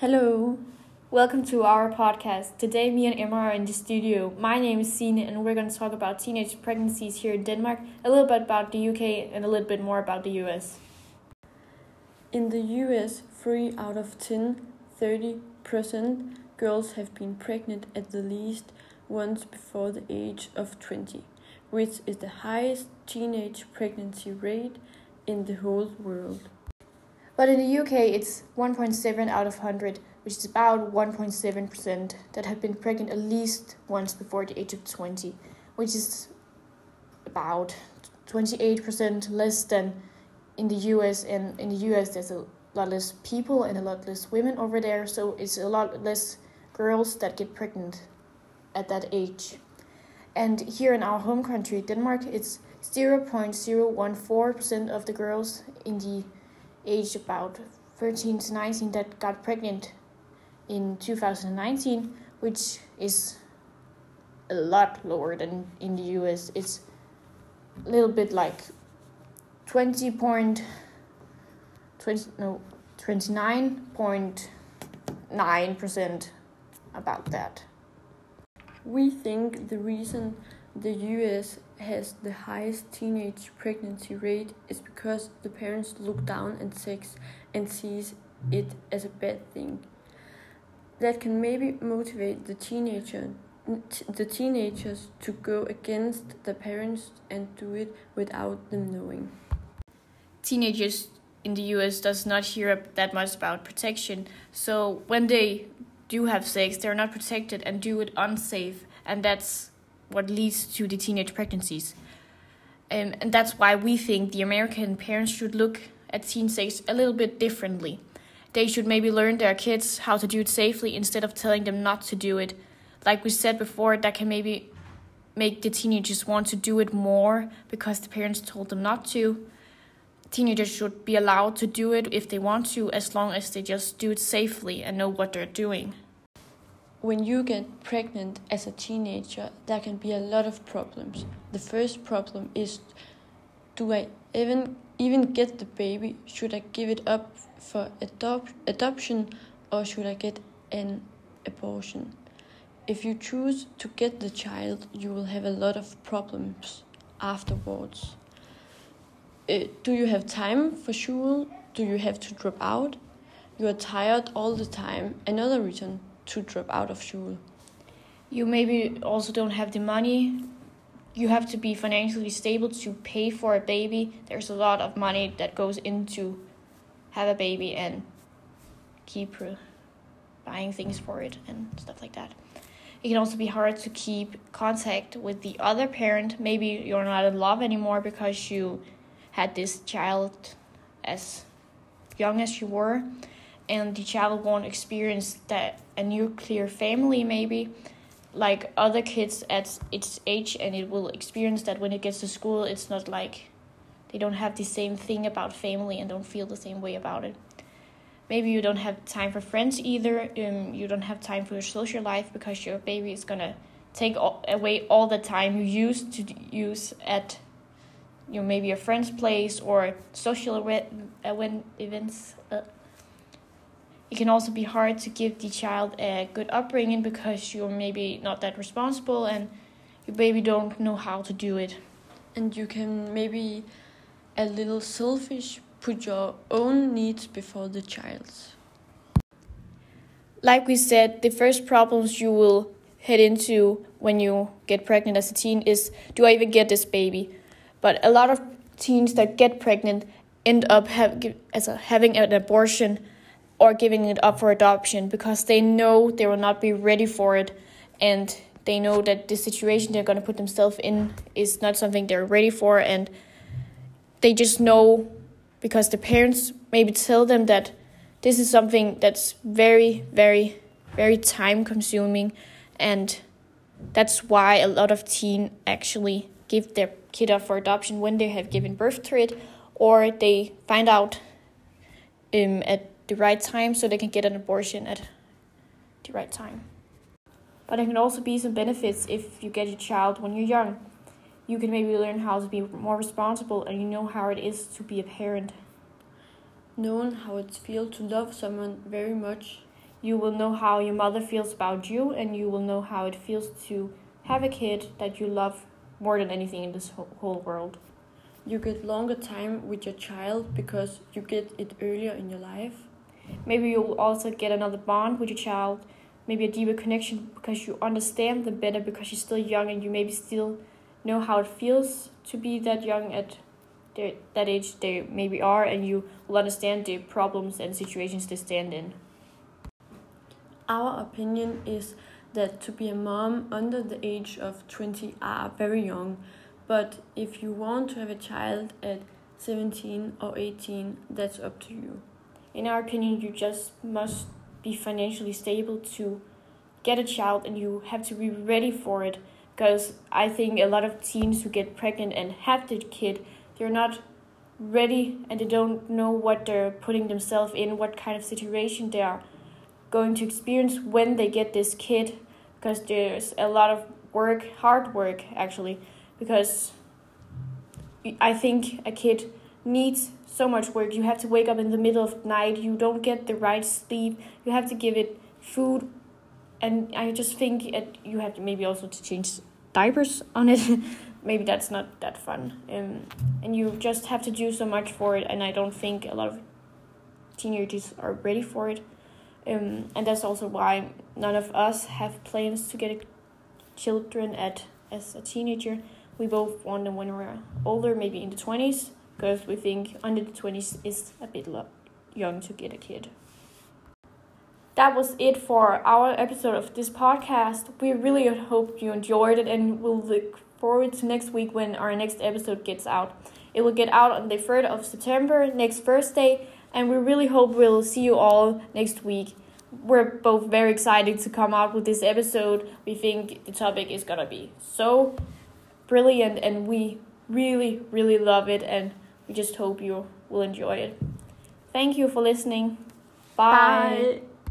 Hello, welcome to our podcast. Today, me and Emma are in the studio. My name is Signe, and we're going to talk about teenage pregnancies here in Denmark, a little bit about the UK, and a little bit more about the US. In the US, 3 out of 10, 30% girls have been pregnant at the least once before the age of 20, which is the highest teenage pregnancy rate in the whole world. But in the UK, it's 1.7 out of 100, which is about 1.7% that have been pregnant at least once before the age of 20, which is about 28% less than in the US. And in the US, there's a lot less people and a lot less women over there, so it's a lot less girls that get pregnant at that age. And here in our home country, Denmark, it's 0.014% of the girls in the age about 13 to 19 that got pregnant in 2019, which is a lot lower than in the US. It's a little bit like 29.9% about that. We think the reason the US has the highest teenage pregnancy rate is because the parents look down on sex and sees it as a bad thing. That can maybe motivate the teenagers to go against the parents and do it without them knowing. Teenagers in the US does not hear that much about protection, so when they do have sex, they're not protected and do it unsafe, and that's what leads to the teenage pregnancies. And that's why we think the American parents should look at teen sex a little bit differently. They should maybe learn their kids how to do it safely instead of telling them not to do it. Like we said before, that can maybe make the teenagers want to do it more because the parents told them not to. Teenagers should be allowed to do it if they want to, as long as they just do it safely and know what they're doing. When you get pregnant as a teenager, there can be a lot of problems. The first problem is, do I even get the baby? Should I give it up for adoption, or should I get an abortion? If you choose to get the child, you will have a lot of problems afterwards. Do you have time for school? Do you have to drop out? You are tired all the time. Another reason to drop out of school. You maybe also don't have the money. You have to be financially stable to pay for a baby. There's a lot of money that goes into have a baby and keep buying things for it and stuff like that. It can also be hard to keep contact with the other parent. Maybe you're not in love anymore because you had this child as young as you were, and the child won't experience that a nuclear family maybe like other kids at its age, and it will experience that when it gets to school. It's not like they don't have the same thing about family and don't feel the same way about it. Maybe you don't have time for friends either. You don't have time for your social life because your baby is gonna take away all the time you used to use at maybe a friend's place or social events. It can also be hard to give the child a good upbringing because you're maybe not that responsible and your baby don't know how to do it. And you can maybe a little selfish, put your own needs before the child's. Like we said, the first problems you will head into when you get pregnant as a teen is, do I even get this baby? But a lot of teens that get pregnant end up having an abortion or giving it up for adoption because they know they will not be ready for it, and they know that the situation they're going to put themselves in is not something they're ready for, and they just know because the parents maybe tell them that this is something that's very, very, very time consuming, and that's why a lot of teens actually give their kid up for adoption when they have given birth to it, or they find out at the right time so they can get an abortion at the right time. But there can also be some benefits if you get your child when you're young. You can maybe learn how to be more responsible, and you know how it is to be a parent. Knowing how it feels to love someone very much. you will know how your mother feels about you, and you will know how it feels to have a kid that you love more than anything in this whole world. You get longer time with your child because you get it earlier in your life. Maybe you'll also get another bond with your child, maybe a deeper connection because you understand them better because you're still young and you maybe still know how it feels to be that young at that age they maybe are, and you will understand the problems and situations they stand in. Our opinion is that to be a mom under the age of 20 are very young, but if you want to have a child at 17 or 18, that's up to you. In our opinion, you just must be financially stable to get a child, and you have to be ready for it, because I think a lot of teens who get pregnant and have the kid, they're not ready and they don't know what they're putting themselves in, what kind of situation they are going to experience when they get this kid, because there's a lot of work, hard work actually, because I think a kid needs so much work. You have to wake up in the middle of the night, you don't get the right sleep, you have to give it food, and I just think you have to maybe also to change diapers on it. Maybe that's not that fun, and you just have to do so much for it, and I don't think a lot of teenagers are ready for it. And that's also why none of us have plans to get children as a teenager. We both want them when we're older, maybe in the 20s, because we think under the 20s is a bit young to get a kid. That was it for our episode of this podcast. We really hope you enjoyed it, and we'll look forward to next week when our next episode gets out. It will get out on the 3rd of September, next Thursday, and we really hope we'll see you all next week. We're both very excited to come out with this episode. We think the topic is gonna be so brilliant, and we really, really love it, and we just hope you will enjoy it. Thank you for listening. Bye.